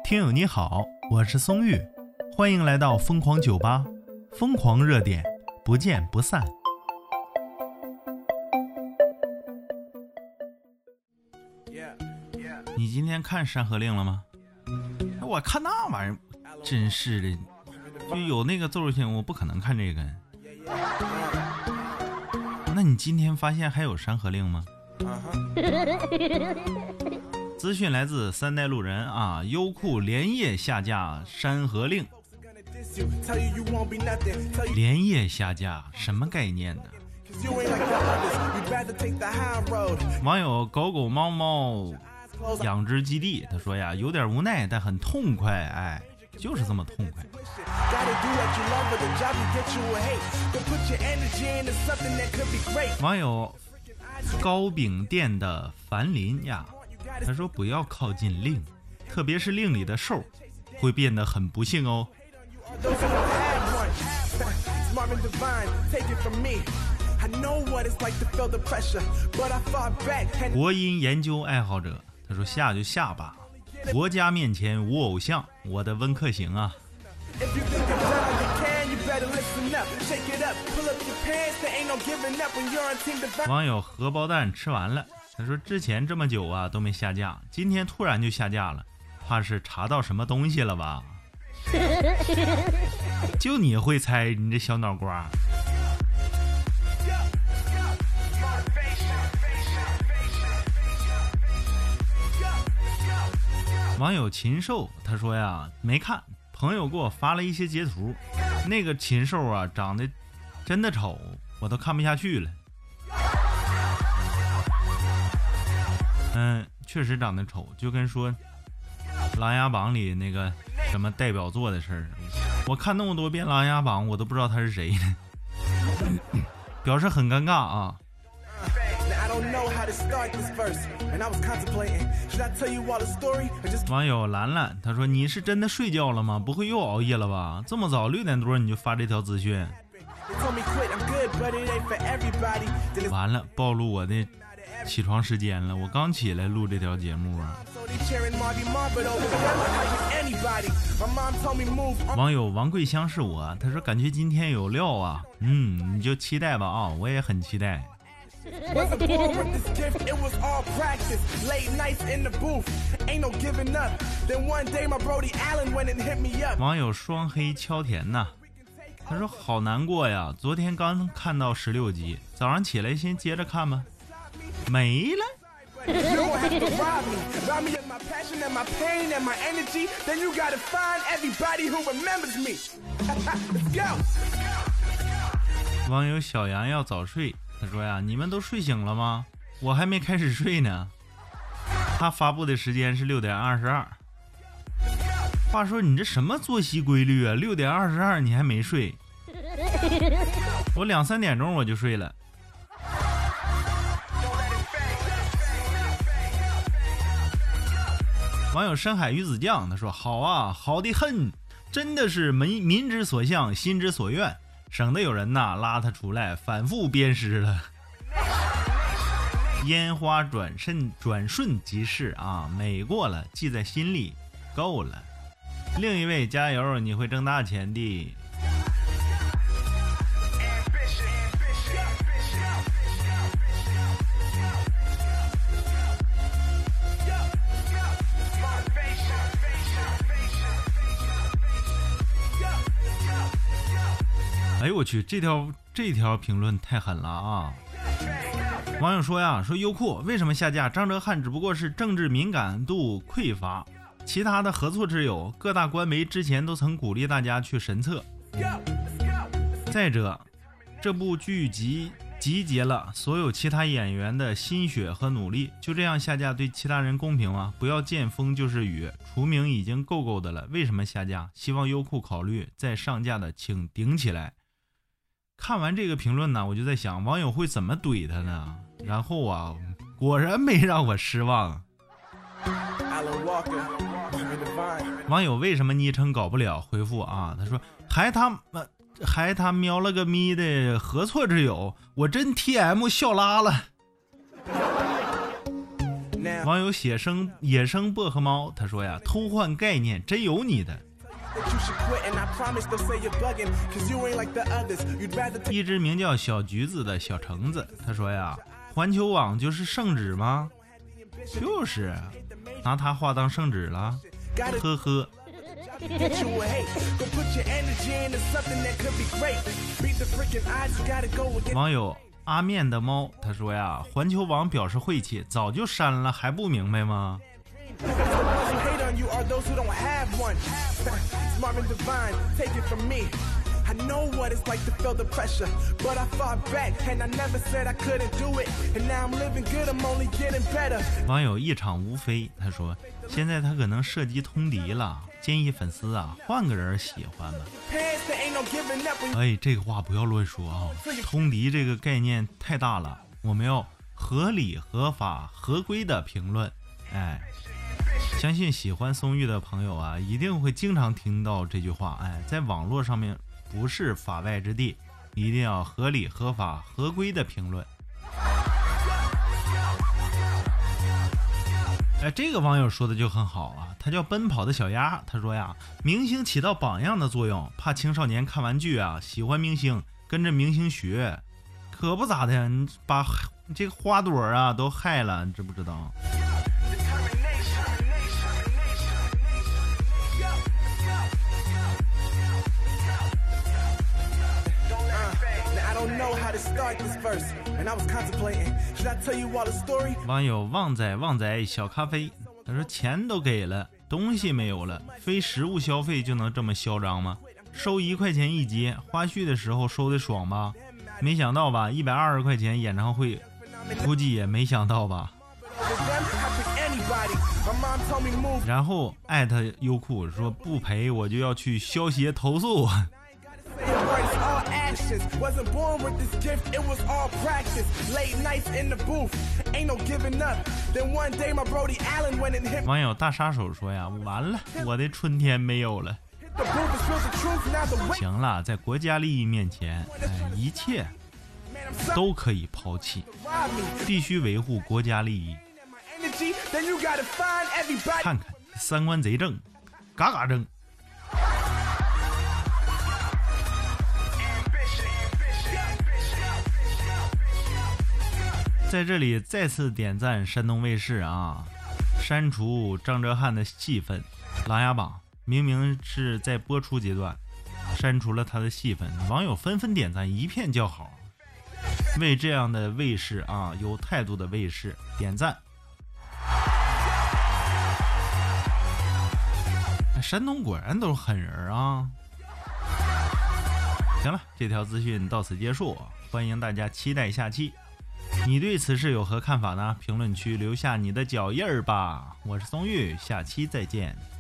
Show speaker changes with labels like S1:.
S1: 听友你好，我是松玉，欢迎来到疯狂酒吧，疯狂热点，不见不散。你今天看《山河令》了吗？我看那玩意儿，真是的，就有那个奏性，我不可能看这个。那你今天发现还有《山河令》吗？资讯来自三代路人啊，优酷连夜下架《山河令》。连夜下架什么概念呢？网友狗狗猫猫养殖基地他说呀，有点无奈但很痛快，哎，就是这么痛快。网友糕饼店的樊林呀，他说不要靠近令，特别是令里的兽会变得很不幸哦。国音研究爱好者他说下就下吧，国家面前无偶像，我的温客行啊。网友荷包蛋吃完了，他说之前这么久啊都没下架，今天突然就下架了，怕是查到什么东西了吧？就你会猜，你这小脑瓜。网友禽兽他说呀，没看，朋友给我发了一些截图，那个禽兽啊长得真的丑，我都看不下去了。确实长得丑，就跟说《琅琊榜》里那个什么代表作的事儿。我看那么多遍《琅琊榜》，我都不知道他是谁呢，表示很尴尬啊。网友兰兰他说，你是真的睡觉了吗？不会又熬夜了吧？这么早6点多你就发这条资讯，完了暴露我的起床时间了，我刚起来录这条节目啊。网友王桂香是我，他说感觉今天有料啊，你就期待吧啊，我也很期待。网友双黑敲田呐，他说好难过呀，昨天刚看到16集，早上起来先接着看吧，没了。网友小杨要早睡，他说呀，你们都睡醒了吗？我还没开始睡呢。他发布的时间是6点22。话说你这什么作息规律啊？6点22你还没睡？我2、3点钟我就睡了。网友深海鱼子酱他说，好啊，好的很，真的是民之所向，心之所愿，省得有人呐拉他出来反复鞭尸了。烟花转瞬即逝啊，美过了，记在心里，够了。另一位加油，你会挣大钱的。哎呦我去，这条评论太狠了啊！网友说呀，说优酷为什么下架？张哲瀚只不过是政治敏感度匮乏，其他的何错之有？各大官媒之前都曾鼓励大家去神测。再者，这部剧集结了所有其他演员的心血和努力，就这样下架对其他人公平吗？不要见风就是雨，除名已经够的了，为什么下架？希望优酷考虑再上架的请顶起来。看完这个评论呢，我就在想网友会怎么怼他呢？然后啊，果然没让我失望。网友为什么昵称搞不了回复啊？他说还他喵了个咪的，何错之有？我真 TM 笑拉了。 网友野生薄荷猫他说呀，偷换概念真有你的。一只名叫小橘子的小橙子他说呀，环球网就是圣旨吗？就是拿它话当圣旨了，呵呵。网友阿面的猫他说呀，环球网表示晦气，早就删了还不明白吗？网友一场无非他说，现在他可能涉及通敌了，建议粉丝啊换个人喜欢吧。哎，这个话不要乱说啊，通敌这个概念太大了，我们要合理合法合规的评论。哎，相信喜欢松玉的朋友啊，一定会经常听到这句话。哎，在网络上面不是法外之地，一定要合理合法合规的评论。哎，这个网友说的就很好啊，他叫奔跑的小鸭，他说呀，明星起到榜样的作用，怕青少年看完剧啊喜欢明星，跟着明星学，可不咋的，你把这个花朵啊都害了，你知不知道？网友旺仔小咖啡他说，钱都给了，东西没有了，非实物消费就能这么嚣张吗？收1块钱一节，花絮的时候收的爽吧？没想到吧，120块钱演唱会，估计也没想到吧。然后艾特优酷说，不赔我就要去消协投诉。网友大杀手说呀，完了，我的春天没有了。行了，在国家利益面前，一切都可以抛弃，必须维护国家利益。看看三观贼正，嘎嘎正。在这里再次点赞山东卫视啊，删除张哲瀚的戏份，《琅琊榜》明明是在播出阶段，删除了他的戏份，网友纷纷点赞，一片叫好，为这样的卫视啊，有态度的卫视点赞。山东果然都是狠人啊！行了，这条资讯到此结束，欢迎大家期待下期。你对此事有何看法呢？评论区留下你的脚印儿吧。我是松玉，下期再见。